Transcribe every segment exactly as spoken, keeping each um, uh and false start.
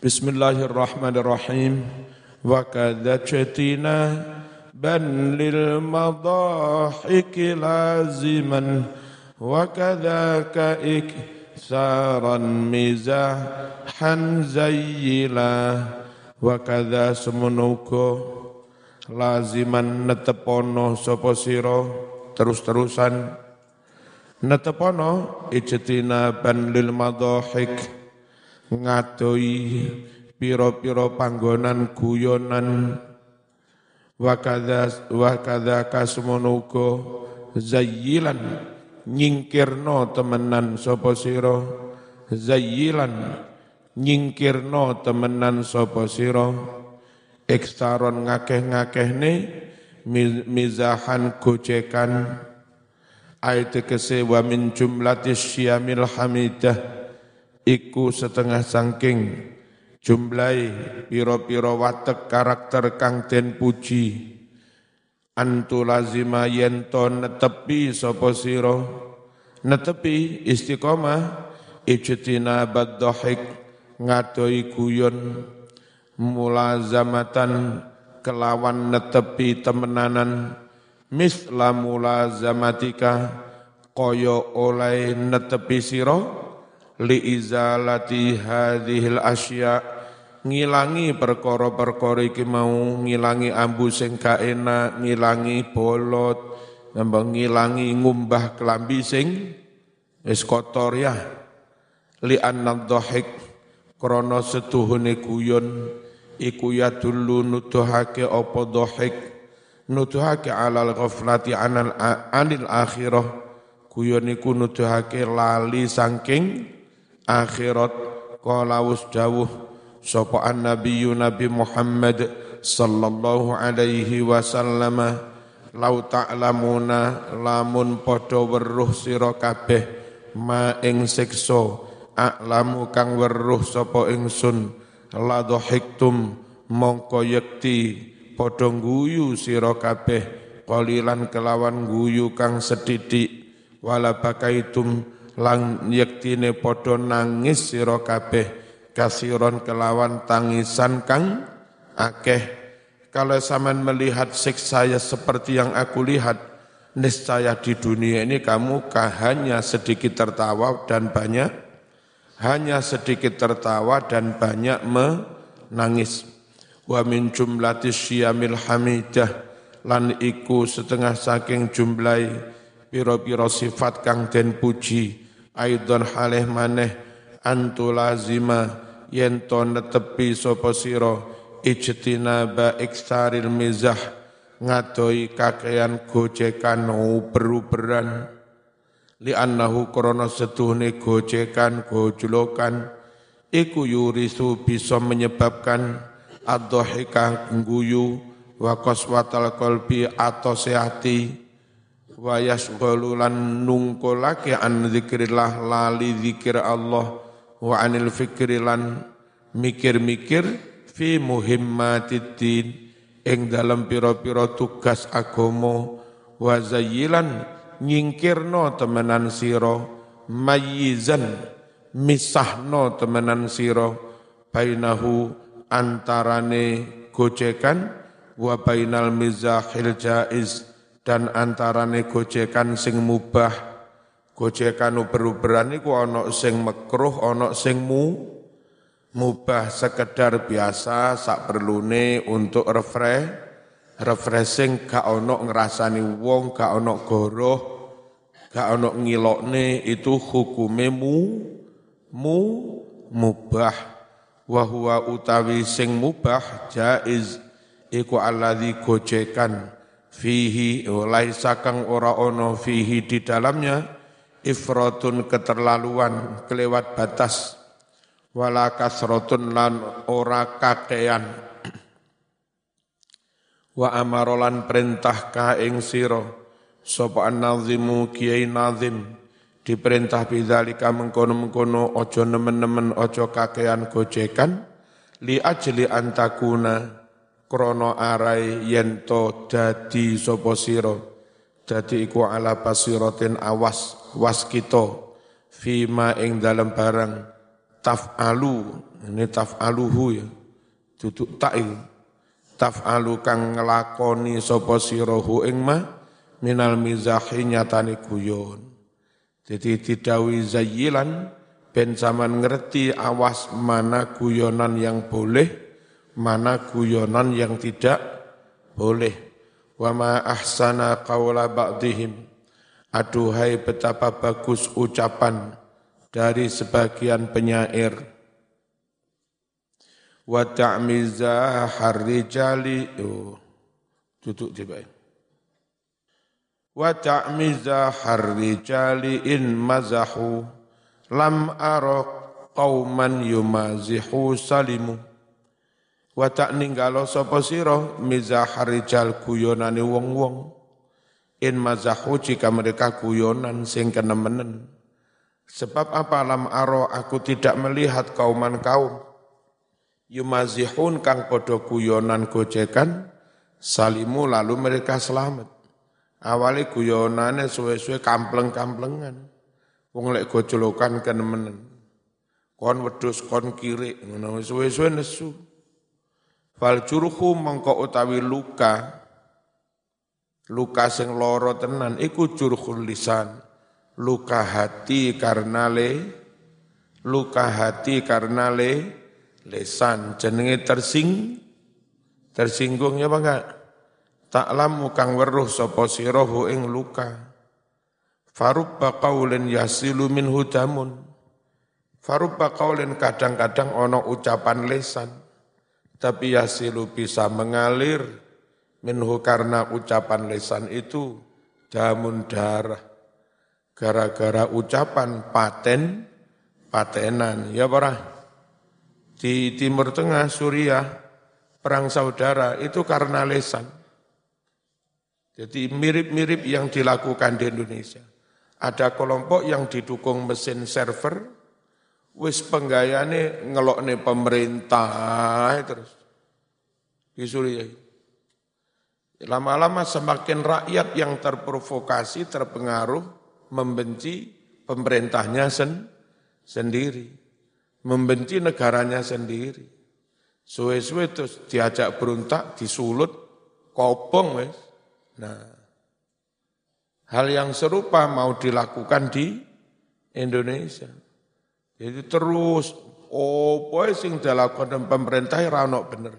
Bismillahirrahmanirrahim. Wa kadzatina ban lil madahiki laziman wa kadzaka iksaran mizahan zayyila wa kadza semenuga laziman netepono sapa sira terus-terusan netepono ijtina ban lil madahik ngadoi piro-piro panggonan guyonan wa kadza wa kadza kasmonugo zayyilan nyingkirno temenan sapa sira zayyilan nyingkirno temenan sapa sira ekstaron ngakeh-ngakehne mizahan gocekan ayat kese wa min jumlatis syamil hamidah iku setengah sangking jumlahi piro-piro watek karakter kang den puji antu lazima yento netepi sapa sira netepi istiqomah ijtina badhahik ngadoi guyon mulazamatan kelawan netepi temenanan misla mulazamatika kaya oleh netepi sira li izalati hadhil asya ngilangi perkara-perkara iki mau ngilangi ambu sing gak enak ngilangi bolot nambah ngilangi ngumbah kelambi sing wis kotor ya li annadhahik krana setuhune guyon iku ya dulu nuduhake apa dhahik nuduhake alal ghaflati anil anil akhirah guyon iku nuduhake lali saking akhirat. Qala wasdawuh sapa annabiyyu nabi Muhammad sallallahu alaihi wasallam lau ta'lamuna lamun padha weruh sira kabeh ma ing siksa a'lamu kang weruh sapa ingsun la dhahiktum mongko yekti padha guyu sira kabeh qalilan kelawan guyu kang sedidik wala bakaitum lang yektine padha nangis sira kabeh kasiron kelawan tangisan kang akeh. Kalau sampean melihat siksa saya seperti yang aku lihat, niscaya di dunia ini kamu hanya sedikit tertawa dan banyak hanya sedikit tertawa dan banyak menangis. Wa min jumlatis syamil hamidah lan iku setengah saking jumlahi piro-piro sifat kang den puji aidon halih maneh antu lazima yento netepi sapa sira ijtinaba iksaril mizah ngadoi kakean gojekan uber-uberan li annahu krana setuhne gojekan gojlokan iku yurisu bisa menyebabkan ad-dhahika guyu wa qaswatal qalbi atose ati wa yasghalulan nungkolake an zikrillah lali zikir Allah wa anil fikrilan mikir-mikir fi muhimmatiddin ing dalam pira-pira tugas agama wa zayyilan nyingkirno temenan sira mayyizan misahno temenan sira bainahu antarane gojekan wa bainal mizahil jaiz dan antarane gojekan sing mubah gojekan uber-uberan iku ana sing makruh ana sing mu mubah sekedar biasa sak perlune untuk refresh refreshing gak ana ngrasani wong gak ana goroh gak ana ngilokne itu hukume mu mu mubah wa huwa utawi sing mubah jaiz iku alladzi gojekan fihi laisa kang ora ono fihi di dalamnya ifratun keterlaluan kelewat batas wala kasratun lan ora kakean wa amarolan perintah ka ing sira sapa an-nazimu kiai nazim diperintah bidzalika mengkono-mengkono aja nemen-nemen aja kakean gojekan li ajli antakuna krono arai yento dadi sapa sira dadi iku ala basiratin awas was kita fima ing dalam barang taf'alu Ini taf'aluhu ya. Duduk ta'il. Taf'alu kang ngelakoni sapa sirahu ing ma minal mizahi nyatane guyon. Jadi didawi zayyilan ben zaman ngerti awas mana guyonan yang boleh, mana guyonan yang tidak boleh. Wa ma ahsana qawla ba'dihim. Aduhai betapa bagus ucapan dari sebagian penyair. Wa ta'miza harrijali oh, duduk tiba. Wa ta'miza harrijali in mazahu lam ara qauman yumazihu salimu. Wa tak ninggalo sapa sira mizahar rijal guyonane wong-wong in mazahu jika mereka guyonan sing kenemenen. Sebab apa lam aro aku tidak melihat kauman kaum yumazihun kang padha guyonan gojekan salimu lalu mereka selamat. Awale guyonane suwe-suwe kampleng-kamplengan. Wong lek gojolokan kenemenen. Kon wedhus kon kirik ngono suwe-suwe nesu. Fal jurhu mongko utawi luka luka sing loro tenan iku jurhul lisan luka hati karena le luka hati karena le lisan jenenge tersing tersinggung ya apa enggak ta'lamu kang weruh sapa sirahu ing luka farubba qaulin yasilu minhu damun farubba qaulin kadang-kadang ana ucapan lisan tapi yasilu bisa mengalir minhu karena ucapan lisan itu damun darah gara-gara ucapan paten patenan ya para di Timur Tengah Suriah perang saudara itu karena lisan jadi mirip-mirip yang dilakukan di Indonesia ada kelompok yang didukung mesin server wis penggayane ngelokne pemerintah terus di Suriah. Lama-lama semakin rakyat yang terprovokasi, terpengaruh, membenci pemerintahnya sen, sendiri, membenci negaranya sendiri. Suwe-suwe terus diajak berontak, disulut, kopong wis. Nah, hal yang serupa mau dilakukan di Indonesia. Jadi terus, opo sing dilakukan pemerintah ora ono bener.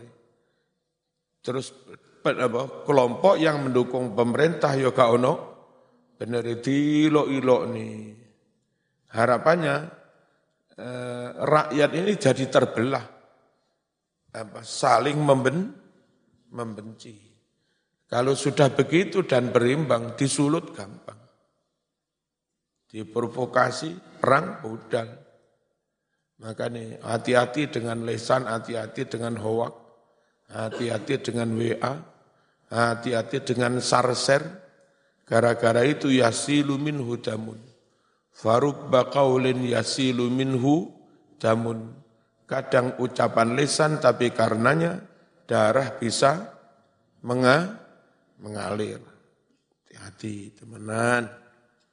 Terus apa, kelompok yang mendukung pemerintah ya gak ono bener dilok-ilok nih. Harapannya eh, rakyat ini jadi terbelah, apa, saling memben, membenci. Kalau sudah begitu dan berimbang, disulut gampang. Diprovokasi, perang, budal. Makanya hati-hati dengan lisan, hati-hati dengan hoak, hati-hati dengan W A, hati-hati dengan sarser. Gara-gara itu yasilu minhu damun. Farubba qaulin yasilu minhu damun. Kadang ucapan lisan tapi karenanya darah bisa menga, mengalir. Hati-hati teman-teman.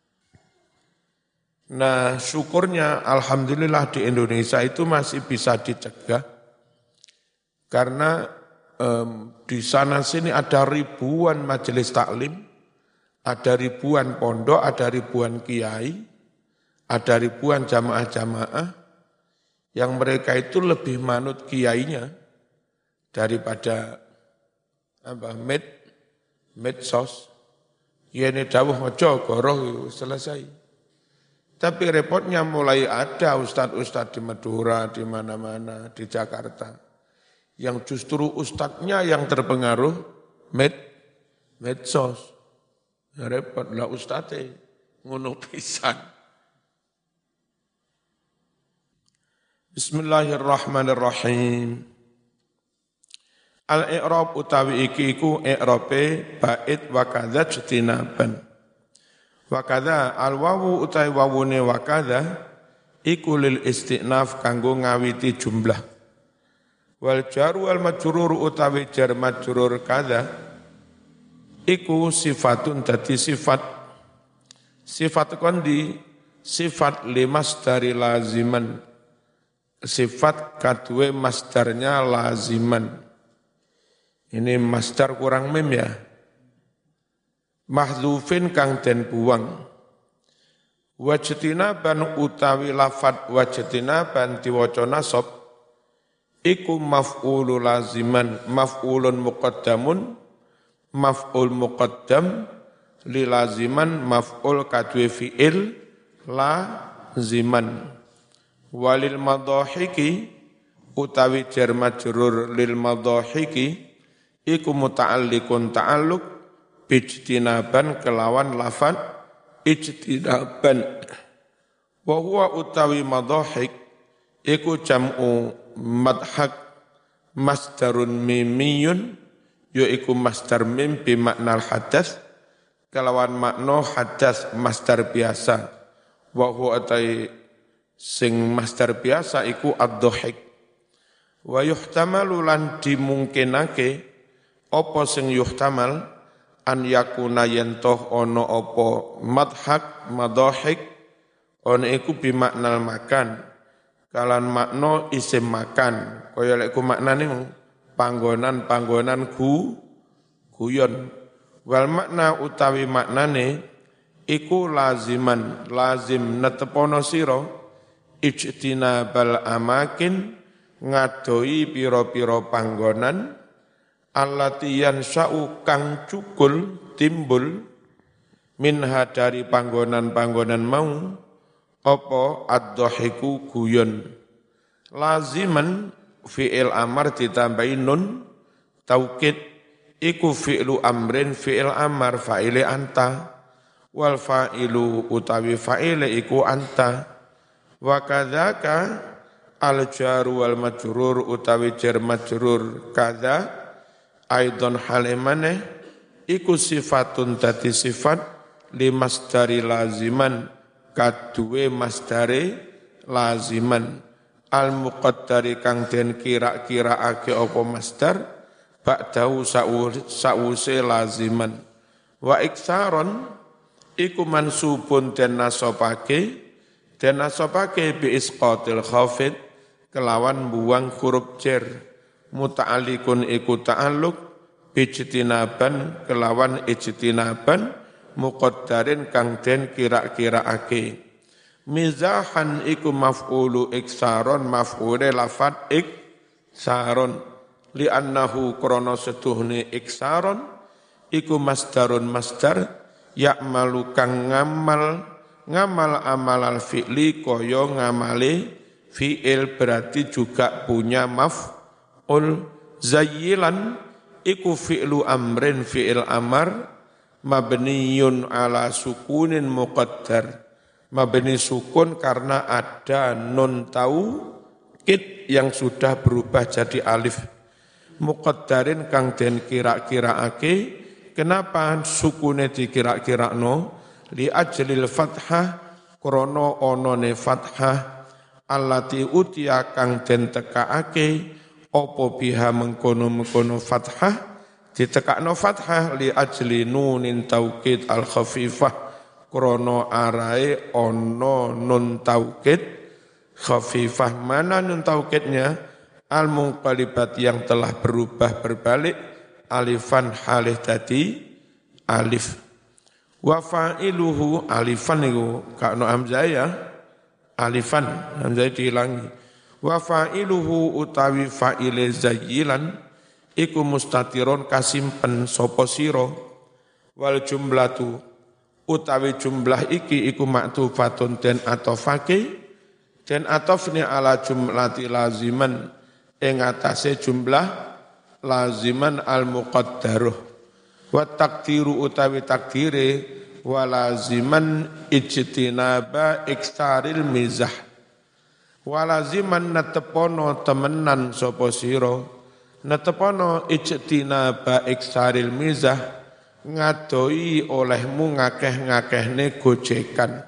Nah syukurnya alhamdulillah di Indonesia itu masih bisa dicegah karena um, di sana sini ada ribuan majelis taklim, ada ribuan pondok, ada ribuan kiai, ada ribuan jamaah-jamaah yang mereka itu lebih manut kiainya daripada apa med medsos. Yene dawuh maca goroh selesai. Tapi repotnya mulai ada ustadz-ustadz di Madura, di mana-mana, di Jakarta. Yang justru ustadznya yang terpengaruh med, medsos. Ya repot lah ustadznya, ngono pisan. Bismillahirrahmanirrahim. Al-i'rab utawi iki iku i'rabe bait wa kadza jtinaban. Wakadha al-wawu utai wawune wakadha iku lil istinaf kanggo ngawiti jumlah. Wal jaru wal majrur utawi jar majrur kadha iku sifatun dadi sifat. Sifat kondi sifat limas dari laziman sifat kadue masdarnya laziman. Ini masdar kurang mim ya. Mahdzufin kang den buang. Wajtinaban utawi lafat wajtinaban diwaca nasab iku maf'ulu laziman, maf'ulun muqaddamun, maf'ul muqaddam li laziman, maf'ul kadwe fi'il laziman. Walil madhahiki utawi jar majrur lil madhahiki iku muta'alliqun ta'alluq bijtinaban kelawan lafat ijtinaban. Wa huwa utawi madhahik iku jam'u madhak masdarun mimiyun yaiku masdar mim bi makna hadas kelawan makna hadas masdar biasa. Wa huwa atai sing masdar biasa iku ad-dhahik. Wa yuhtamalu lan dimungkinake apa sing yuhtamal an yakuna yentoh ono apa madhak madhahik ono iku bi maknal makan kalan makna isim makan kaya lek ku maknane panggonan-panggonan gu guyon wal makna utawi maknane iku laziman lazim netepono sira ijtinabal amakin ngadoi pira-pira panggonan allati yansa'u kang cukul timbul minha dari panggonan-panggonan mau apa ad-dhahiku guyon. Laziman fi'il amar ditambahi nun taukid iku fi'lu amrin fi'il amar fa'ile anta wal fa'ilu utawi fa'ile iku anta wa kadzaka al jaru wal majrur utawi jar majrur kadza aidon halimane iku sifatun dadi sifat li masdari laziman kaduwe masdare laziman al muqaddari kang den kira-kiraake apa masdar ba'dahu sa'use laziman wa iksaron iku mansubun den nasabake den nasabake bi isqatil khafid kelawan buang huruf jar muta'alliqun iku ta'alluq bijtinaban kelawan ijtinaban muqaddarin kang den kira-kiraake mizahan iku maf'ulu iksaron maf'ule lafat iksaron li annahu krana setuhne iksaron iku masdarun masdar ya'malu kang ngamal ngamal amal al fi'li kaya ngamale fi'il berarti juga punya maf'ul zayyilan iku fi'lu amrin fi'il amar mabniyun ala sukunin muqaddar mabni sukun karena ada nun taukid yang sudah berubah jadi alif muqaddarin kang den kira-kiraake kenapa sukune dikira-kirakno li ajlil fathah krana onone fathah allati utiya kang den tekaake apa biha mengkono-mengkono fathah ditekakno fathah li ajli nunin taukid al khafifah krana arae ana nun taukid khafifah mana nun taukidnya al munqalibat yang telah berubah berbalik alifan halih tadi alif wa fa'iluhu alifan niku kakno hamzah ya alifan hamzah dihilangi wa fa'iluhu utawi fa'ile zayyilan iku mustatirun kasimpen sapa sira wal jumlatu utawi jumlah iki iku maktufatun den atofake den atofne ala jumlati laziman ing atase jumlah laziman al muqaddaruh wa takdiru utawi takdire wa laziman ijtinaba iksaril mizah wa laziman natepono temenan sapa sira natepono ijtinaba iksaril mizah ngadoi olehmu ngakeh-ngakehne gojekan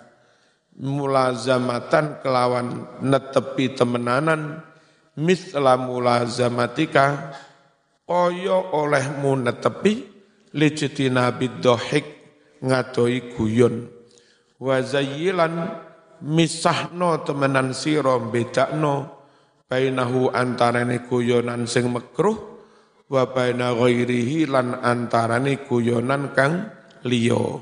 mulazamatan kelawan netepi temenanan misla mulazamatika kaya olehmu netepi lijtinabid dhahik ngadoi guyon wa zayyilan misahno temenan sira bedakno bainahu antarane guyonan sing makruh wa baina ghairihi lan antarane guyonan kang liya.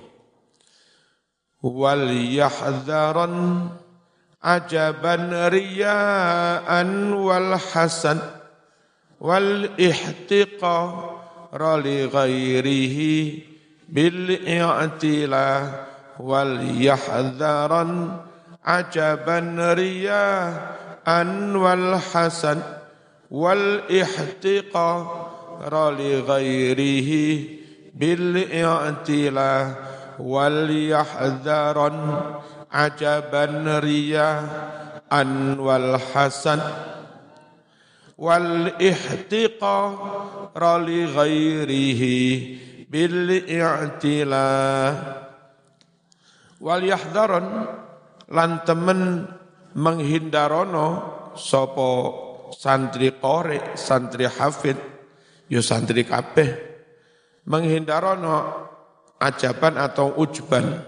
Wal yahdharan ajaban riyaan wal hasan wal ihtiqara li ghairihi bil i'tila wal yahdharan ajaban riyaan wal hasan wal ihtiqara li ghairihi bil i'tila wal yahdharan ajaban riyaan wal hasan wal ihtiqara li ghairihi bil i'tila wal yahdharan lan temen menghindarono sapa santri qori santri hafid ya santri kabeh menghindarono ajaban atau ujban.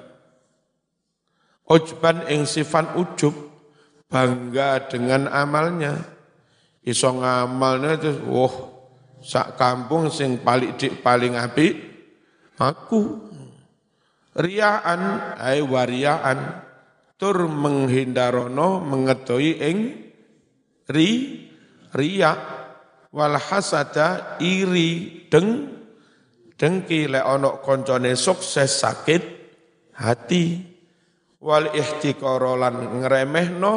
Ujban ing sifat ujub, bangga dengan amalnya. Iso ngamalnya itu, wah, sak kampung sing paling dik paling apik aku. Riaan, ay wariaan, tur menghindarono mengedoi ing ri, riak, wal hasada iri deng dengki lek ana koncone sukses sakit hati wal ihtiqara lan ngremehno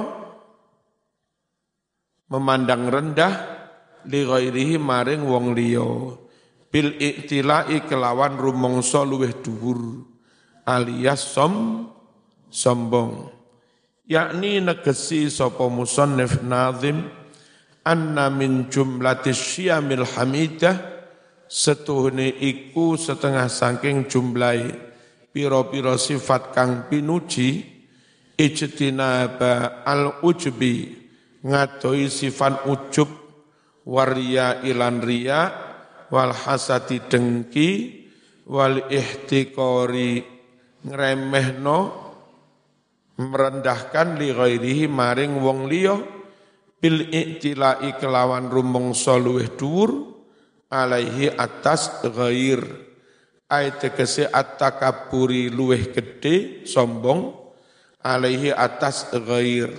memandang rendah li ghairihi maring wong liya bil iktilai kelawan rumangsa luweh dhuwur alias som sombong yakni negesi sapa musannif nazim anna min jumlatis syamil hamidah setuhne iku setengah saking jumlahi piro-piro sifat kang pinuji ijtinaba al-ujbi ngadoi sifat ujub waria ilan ria wal hasati dengki wal ihtiqori ngremehno merendahkan li ghairihi maring wong liya bil iktilai kelawan rumangsa luweh dhuwur alaihi atas ghair ay tegese at-takabburi luweh gede sombong alaihi atas ghair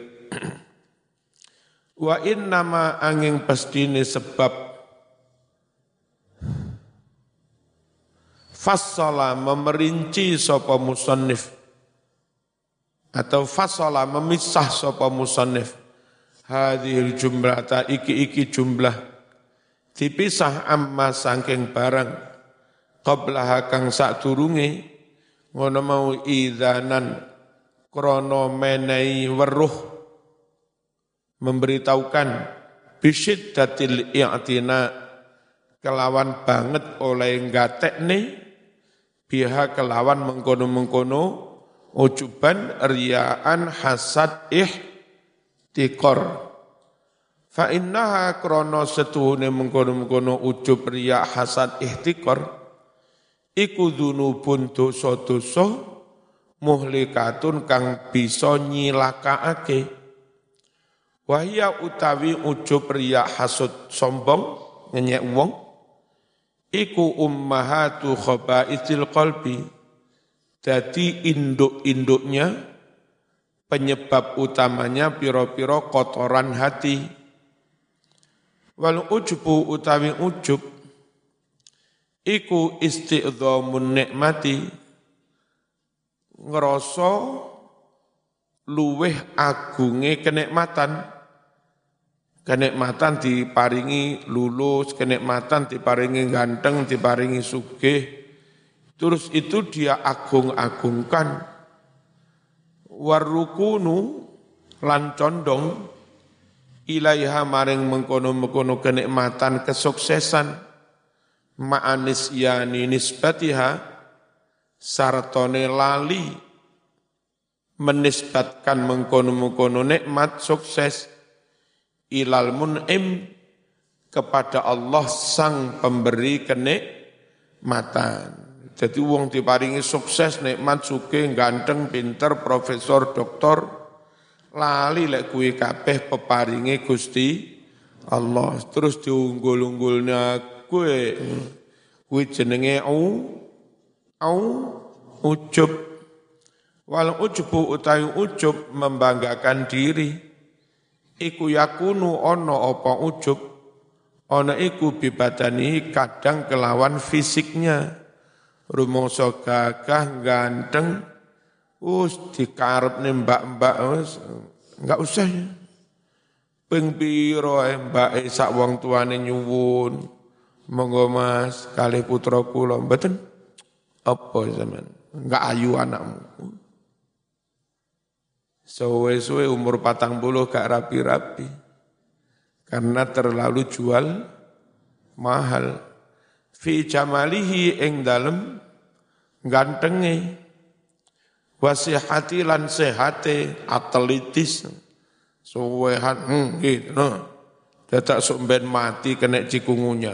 wa innama angin pastine sebab fassala memerinci sapa musannif atau fassala memisah sapa musannif hadhil jumlata iki-iki jumlah dipisah amma saking barang qablaha kang sadurunge ngono mau idzanan krana menehi weruh memberitahukan bisyiddatil i'tina kelawan banget oleh ngatekne biha kelawan mengkono-mengkono ujuban riyaan hasad ihtiqar fa innaha krana setuhune mengkono-mengkono ujub riya hasad ihtiqar iku dzunubun dosa-dosa muhlikatun kang bisa nyilakaake wahya utawi ujub riya hasud sombong ngenyek wong iku ummahatu khaba'ithil qalbi dadi induk-induknya penyebab utamanya piro-piro kotoran hati. Wal ujubu utawi ujub iku isti'dhamun nikmati ngrasa luweh agunge kenikmatan kenikmatan diparingi lulus kenikmatan diparingi ganteng diparingi sugih terus itu dia agung-agungkan warukunu lan condong ilaiha maring mengkono-mengkono kenikmatan kesuksesan ma'anis yani nisbatiha sartone lali menisbatkan mengkono-mengkono nikmat sukses ilal mun'im kepada Allah sang pemberi kenikmatan. Jadi wong diparingi sukses nikmat sugih ganteng pinter profesor doktor Lali lek kuwi kabeh peparinge Gusti Allah. Terus diunggul-unggulnya kuwi kuwi jenenge au au ujub. Wal ujubu utawi ujub membanggakan diri. Iku yakunu ono apa ujub. Ono iku bibadani kadang kelawan fisiknya. Rumangsa gagah ganteng us dikarepne mbak-mbak wis enggak usah ya. Ping pira ae mbake sak wong tuane nyuwun. Monggo Mas kalih putra kula mboten apa sampean enggak ayu anakmu. Suwe-suwe umur patang puluh gak rapi-rapi. Karena terlalu jual mahal. Fi jamalihi ing dalem gantenge. Wasihati lan sehate atletis. Suwehan hmm, gitu. No. Dadak sumben mati kena cikungunya.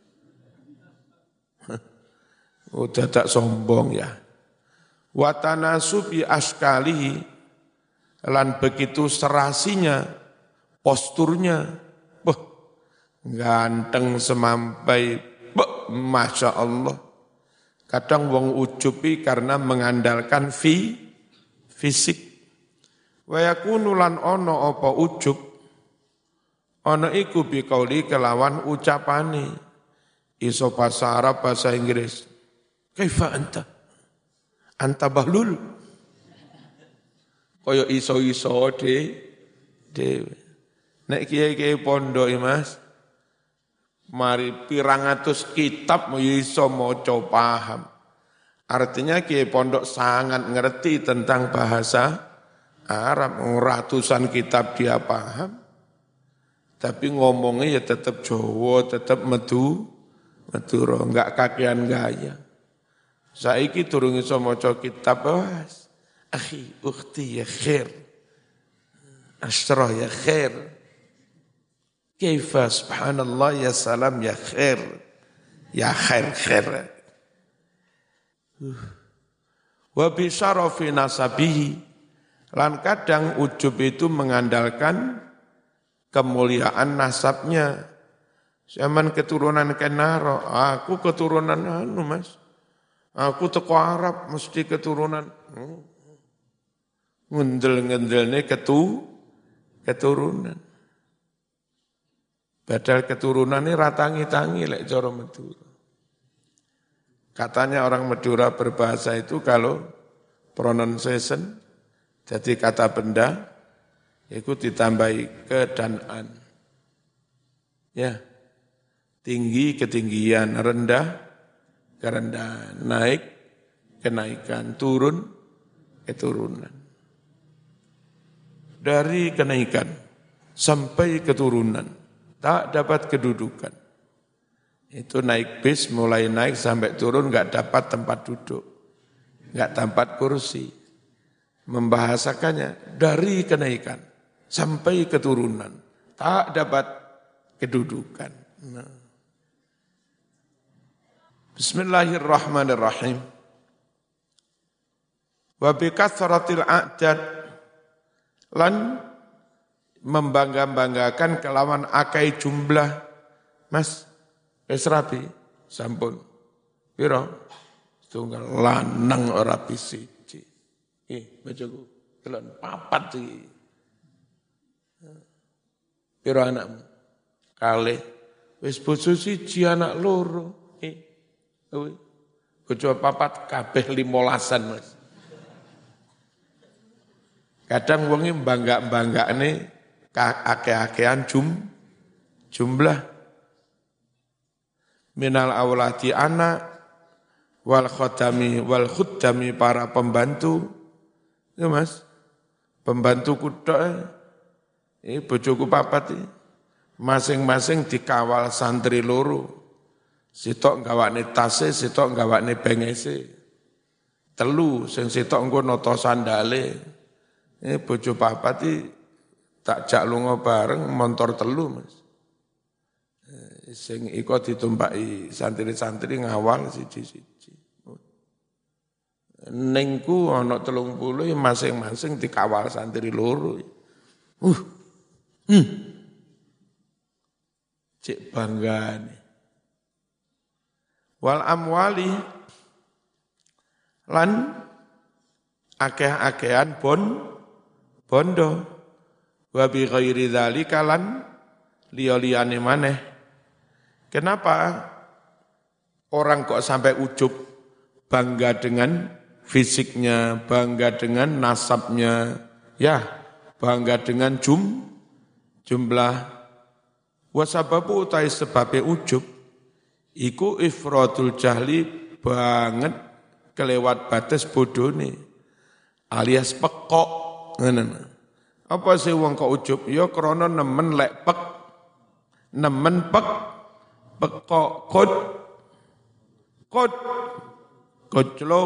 Oh dadak sombong ya. Watanasubi askalihi lan begitu serasinya, posturnya, beh, ganteng semampai, beh, Masya Allah. Kadang wong ujubi karena mengandalkan fi, fisik. Wayakunu lan ono apa ujub, ono iku biqauli kelawan ucapane, iso bahasa Arab, bahasa Inggris. Kaifa anta? Anta bahlul. Kaya iso-iso de, dewe. Nek kiai-kiai pondok Mas, mari pirang atus kitab mau iso maca paham. Artinya kiai pondok sangat ngerti tentang bahasa Arab. Ratusan kitab dia paham. Tapi ngomongnya ya tetap Jawa, tetap medu, Madura, enggak kakean gaya. Saiki durung iso maca kitab, Mas. Akhi, ukhti ya khair. Asyrah ya khair. Kaifa subhanallah ya salam ya khair. Ya khair khair. Wa bi syarafi nasabihi. Lan kadang ujub itu mengandalkan kemuliaan nasabnya. Zaman keturunan Kenaro, aku keturunan anu Mas. Aku teko Arab mesti keturunan. Ngendel-ngendelne ketu keturunan. Padahal keturunan ini ratangi-tangi lek cara Madura. Katanya orang Madura berbahasa itu kalau pronunciation jadi kata benda itu ditambahi ke dan an. Ya. Tinggi ketinggian, rendah kerendahan, naik kenaikan, turun keturunan. Dari kenaikan sampai keturunan, tak dapat kedudukan. Itu naik bis, mulai naik sampai turun, enggak dapat tempat duduk, enggak dapat kursi. Membahasakannya dari kenaikan sampai keturunan, tak dapat kedudukan. Nah. Bismillahirrahmanirrahim. Wa bi kathratil a'dad lan membangga-banggakan kelawan akai jumlah. Mas, wis rapi, sampun. Piro? Setunggal lanang ora bisiji. Eh, bacaku, kelon papat iki. Piro anakmu? Kalih. Wis bojo siji anak loro. Eh, bojo papat kabeh limolasan, Mas. Kadang wonge bangga-banggane ake-akean jum jumlah minal aulati anak wal khodami wal khuddami para pembantu. Ya Mas, pembantu kutok eh bojoku papat eh. Masing-masing dikawal santri loro. Sitok gawane tase, sitok gawane bengese. Telu sing sitok engko nata sandale. Eh bojo papat iki tak jak lunga bareng montor telu Mas. Eh, sing iko ditumpaki santri-santri ngawal siji-siji. Ningku ana telung puluh masing-masing dikawal santri loro. Uh, hmm. Cek bangga nih. Wal amwali lan akeh-akehan bon bondo wa bi ghairi dzalika lan liya-liyane maneh. Kenapa orang kok sampai ujub bangga dengan fisiknya, bangga dengan nasabnya, ya, bangga dengan jum jumlah wasababu utai sebabnya ujub iku ifratul jahli banget kelewat batas bodone alias pekok. Apa sih wong kok ujub? Ya krana nemen lek pek nemen pek pekok kod kod koclok.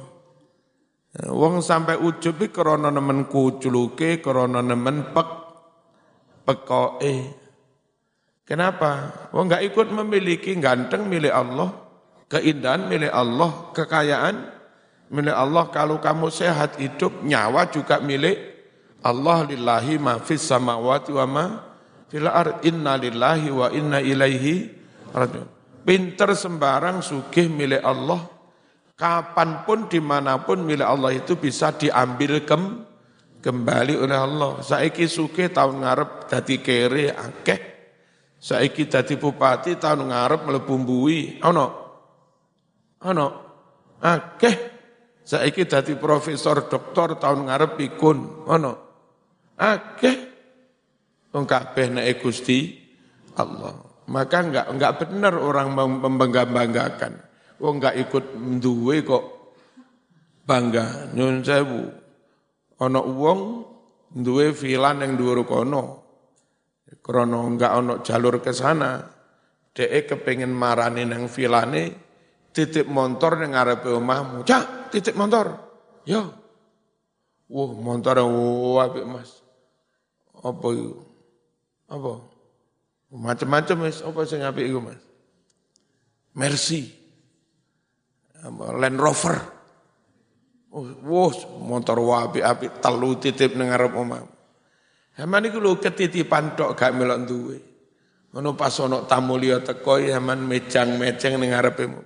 Wong sampai ujub iki krana nemen kucluke, krana nemen pek pekoke. Kenapa? Wong enggak ikut memiliki ganteng milik Allah, keindahan milik Allah, kekayaan milik Allah. Kalau kamu sehat hidup, nyawa juga milik Allah. Lillahi ma fis samawati wa ma fil ard. Inna lillahi wa inna ilaihi raji'un. Pinter sembarang sugih milik Allah. Kapanpun dimanapun milik Allah itu bisa diambil kem, kembali oleh Allah. Saiki sugih tahun ngarep dadi kere akeh. Saiki dadi bupati tahun ngarep mlebu mbuhi ana ana akeh. Saiki dadi profesor doktor tahun ngarep pikun ana akeh. Wong kabeh nek Gusti Allah. Maka enggak enggak benar orang membangga-banggakan. Wong enggak ikut duwe kok bangga. Nyun sewu. Ana wong duwe villa ning dhuwur kono. Krono enggak ono jalur ke sana, dhek kepengin marani nang vilane, titip motor ning ngarepe omahmu. Cak, titip motor. Yo. Wah, motor wah apik Mas. Apa iku? Apa? Macam-macam wis, apa sing apik iku Mas? Mercy. Land Rover. Oh, wah, motor wah apik-apik telu titip ning ngarep omahmu. Haman iku lho ketitipan tok gak melok duwe. Ngono pas ana tamu liya teko haman mejang-mejeng ning ngarepmu.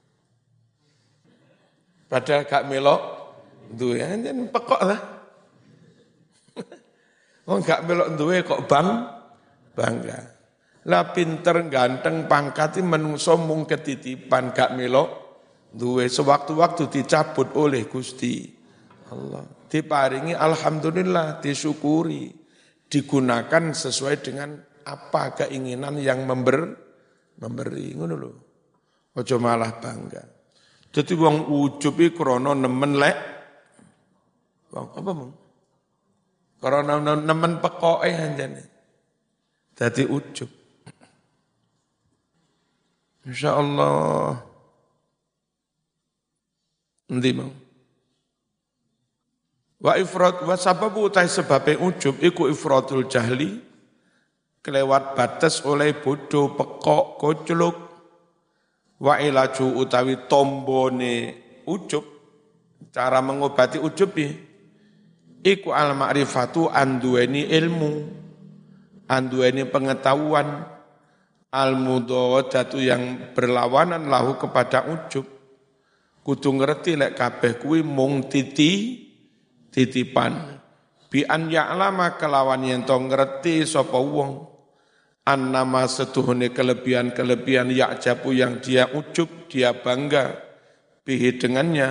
Padahal gak melok duwe, anjen pekok lah. Wong gak melok duwe kok bang bangga. Lah pinter ganteng pangkat iki menungso mung ketitipan gak melok duwe, sewaktu-waktu dicabut oleh Gusti Allah. Diparingi alhamdulillah, disyukuri. Digunakan sesuai dengan apa keinginan yang member, memberi, ngono lho. Aja malah bangga. Dadi wong ujub iki krana nemen lek wong apa mong? Krana nemen pekoke anjene. Dadi ujub. Insyaallah. Endi mong? Wa ifrat wa sababu utai sebabe ujub iku ifratul jahli kelewat batas oleh bodoh pekok kocluk wa ilaju utawi tombone ujub cara mengobati ujub iku al ma'rifatu anduweni ilmu anduweni pengetahuan al mudawwadatu yang berlawanan lahu kepada ujub kudu ngerti lek kabeh kuwi mung titi titipan bi an ya'lama kelawan yen to ngerti sapa wong annama setuhune kelebihan-kelebihan ya'jabu yang dia ujub dia bangga bihi dengannya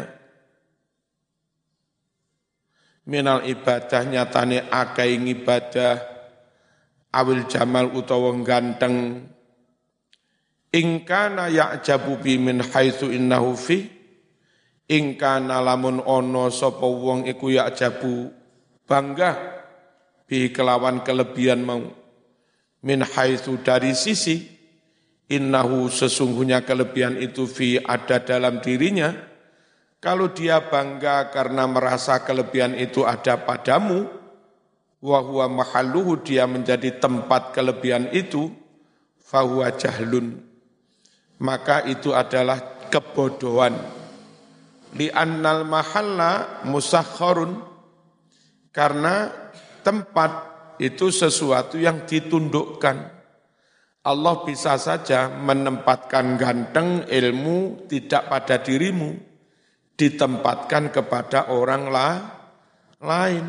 minal ibadah nyatane akeh ibadah awil jamal utawa ganteng ingkana ya'jabu bi min haitsu innahu fi ingkana lamun ono sapa wong iku ya jabu bangga bi kelawan kelebihan mau min haitsu dari sisi innahu sesungguhnya kelebihan itu fi ada dalam dirinya. Kalau dia bangga karena merasa kelebihan itu ada padamu wa huwa mahalluhu dia menjadi tempat kelebihan itu fahuwa jahlun maka itu adalah kebodohan. Li'annal mahalla musakhkharun karena tempat itu sesuatu yang ditundukkan. Allah bisa saja menempatkan ganteng ilmu tidak pada dirimu, ditempatkan kepada orang lah, lain.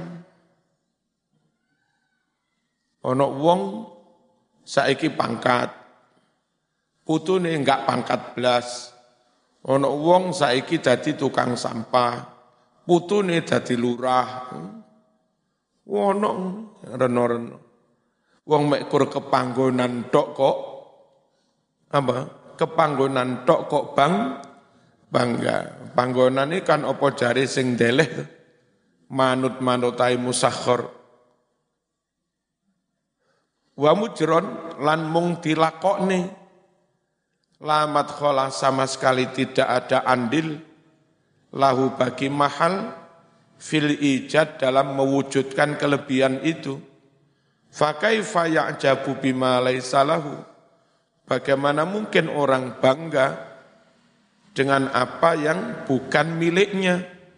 Ono wong saiki pangkat, putune enggak pangkat blas. Ono wong saiki dadi tukang sampah, putune dadi lurah. Ono reno-reno. Wong mek kur kepanggonan tok kok apa? Kepanggonan tok kok bang bangga. Panggonan ini kan apa jare sing deleh manut-manutai musakhor. Wa mujron lan mung dilakokne. Lamat kholah sama sekali tidak ada andil lahu bagi mahal fil ijad dalam mewujudkan kelebihan itu. Fa kaifa ya'jabu bima laisa lahu? Bagaimana mungkin orang bangga dengan apa yang bukan miliknya?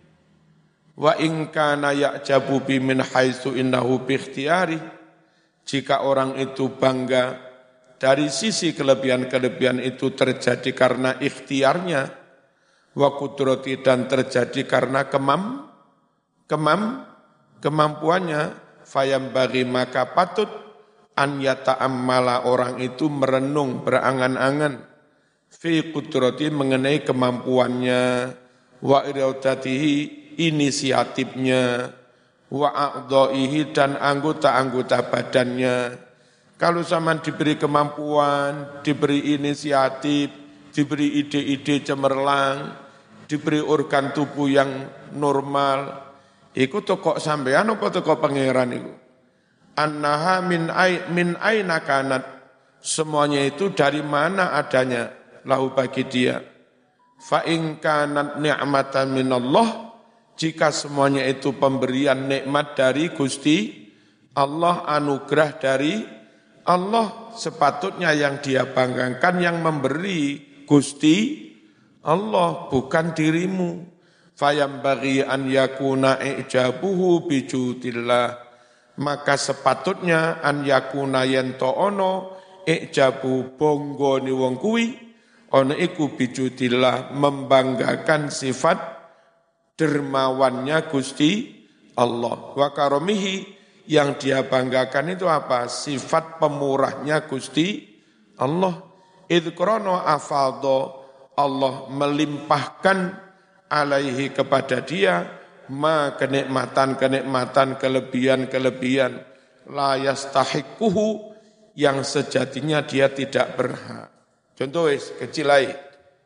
Wa in kana ya'jabu bi min haitsu innahu bi ikhtiyari. Jika orang itu bangga dari sisi kelebihan-kelebihan itu terjadi karena ikhtiarnya, wa qudrati dan terjadi karena kemam kemam kemampuannya, fayam bagi maka patut an yata'ammala orang itu merenung berangan-angan fi qudrati mengenai kemampuannya, wa iradatihi inisiatifnya, wa a'dha'ihi dan anggota-anggota badannya. Kalau zaman diberi kemampuan, diberi inisiatif, diberi ide-ide cemerlang, diberi organ tubuh yang normal, iku toko sampean apa toko pangeran iku? Annaha min ay, min aina kanat. Semuanya itu dari mana adanya lahu bagi dia. Fa in kanat ni'matan minallah, jika semuanya itu pemberian nikmat dari Gusti Allah, anugerah dari Allah, sepatutnya yang dia banggakan yang memberi Gusti Allah, bukan dirimu. Fayam bagi an yakuna ijabuhu bijudillah, maka sepatutnya an yakuna yento ono ijabu bonggo ni wong kuwi ono iku bijudillah, membanggakan sifat dermawannya Gusti Allah. Wa karomihi, yang dia banggakan itu apa? Sifat pemurahnya Gusti Allah. Idh krono afaldo, Allah melimpahkan alaihi kepada dia ma kenikmatan-kenikmatan, kelebihan-kelebihan la yastahiquhu, yang sejatinya dia tidak berhak. Contoh wis kecil ae.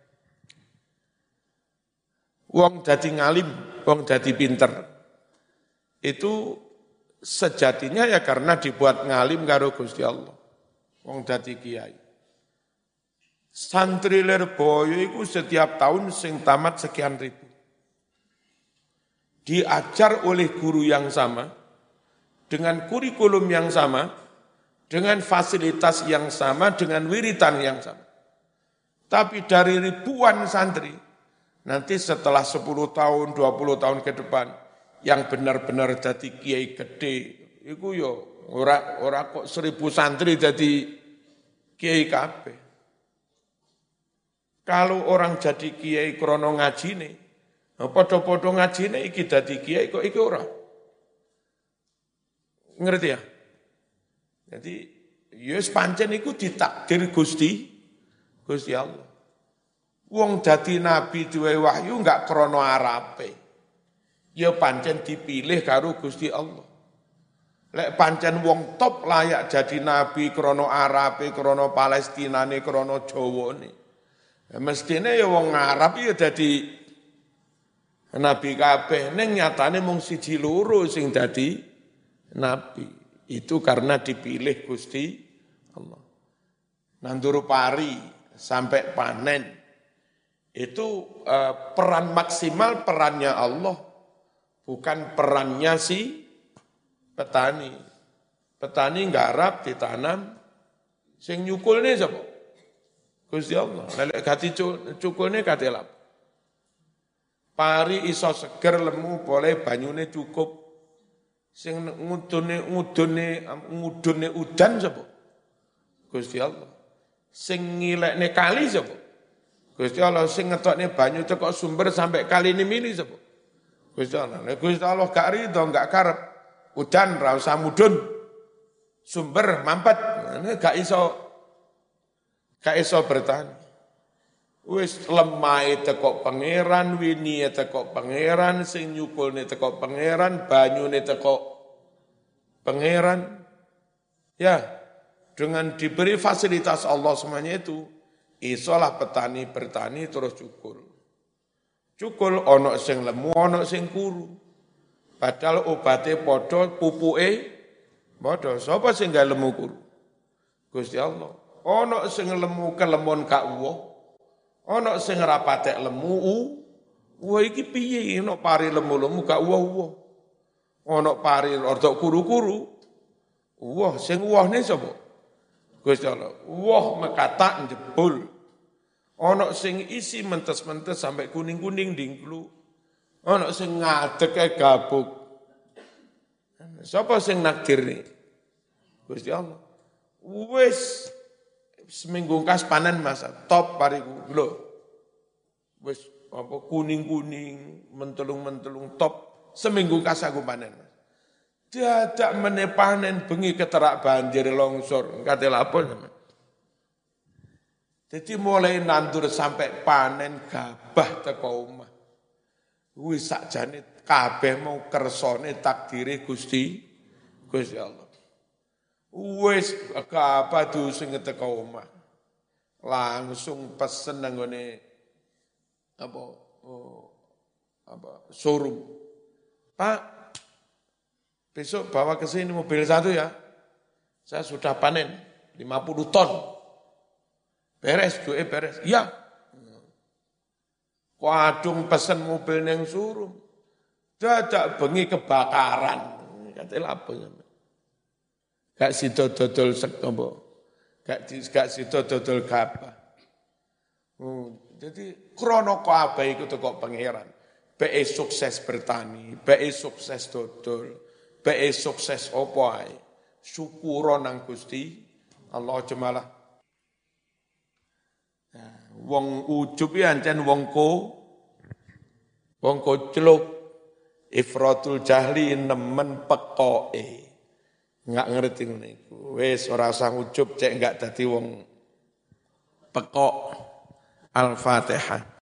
Wong dadi ngalim, wong dadi pinter. Itu sejatinya ya karena dibuat ngalim karo Gusti Allah. Wong dadi kiai. Santri Lirboyo itu setiap tahun sing tamat sekian ribu. Diajar oleh guru yang sama, dengan kurikulum yang sama, dengan fasilitas yang sama, dengan wiritan yang sama. Tapi dari ribuan santri, nanti setelah sepuluh tahun, dua puluh tahun ke depan, yang benar-benar jadi kiai gede, itu yo ora ora kok seribu santri jadi kiai kabeh. Kalau orang jadi kiai krono ngajine, padha-padha ngajine iki dadi kiai kok iki ora. Ngerti ya? Jadi yes pancen iku ditakdir Gusti Gusti Allah. Wong dadi nabi duwe wahyu enggak krono arape. Ya pancen dipilih karo Gusti Allah. Lek pancen wong top layak jadi nabi krono arape, krono Palestinane, krono Jawane. Mestine ya wong Arab ya dadi nabi kabeh, ning nyatane mung siji loro sing dadi nabi. Itu karena dipilih Gusti Allah. Nandur pari sampai panen itu eh, peran maksimal perannya Allah, bukan perannya si petani. Petani nggarap ditanam, sing nyukulne sapa? Gusti Allah. Lek gati cukulne kate lap. Pari iso seger lemu boleh banyune cukup. Sing ngudune ngudune ngudune udan sapa? Gusti Allah. Sing ngilekne kali sapa? Gusti Allah. Sing ngetokne banyu teko sumber sampai kali ini mili sapa? Gusti Allah. Nek Gusti Allah gak rido, gak karep udan ra usah mudun. Sumber mampet, gak iso gak iso bertahan. Wis lemah teko pangeran, wini teko pangeran, sing nyukulne teko pangeran, banyune teko pangeran. Ya, dengan diberi fasilitas Allah semuanya itu, isolah petani bertani terus cukul. Cukul ono sing lemu, ono sing kuru. Padahal obate padha, pupuke padha. Sapa sing gak lemu kuru? Gusti Allah. Ono sing lemu kelemon gak uwoh. Ono sing rapatek lemu u. Wah iki piye ono pari lemu-lemu gak uwoh-uwoh. Ono pari ortok kuru-kuru. Uwoh sing uwohne sapa? Gusti Allah. Uwoh mekatak jebul. Ono sing isi mentes-mentes sampai kuning-kuning dingklu. Ono sing ngadeke gabuk. Sapa sing nakdir ni? Gusti Allah. Wis seminggu kas panen masa top pariku. Lho. Wis apa kuning-kuning, mentelung-mentelung top seminggu kas aku panen. Dadak meneh panen bengi keterak banjir longsor. Kate lapo sampean. Jadi mulai nandur sampai panen gabah teko omah. Wis sakjane kabeh mau kersane takdire Gusti Gusti Allah. Wis gabah sing teko omah. Langsung pesen nang ngene apa oh, apa showroom. Pak, besok bawa ke sini mobil satu ya. Saya sudah panen lima puluh ton. Beres, duit beres. Iya. Wadung pesen mobil neng suruh. Dadak bengi kebakaran. Katanya apa ya? Gak sida dodol sek apa? Gak gak sida dodol gabah. Hmm, jadi krono kabeh iku teko pangeran. Be sukses bertani, be sukses dodol, be sukses apa ae. Syukur nang Gusti Allah jemalah. Wong ujub ya ancen wong ko wong kocluk ifratul jahli nemen pekoke enggak ngerti ngene iku wis ora usah ujub cek enggak dadi wong pekok. Al-Fatihah.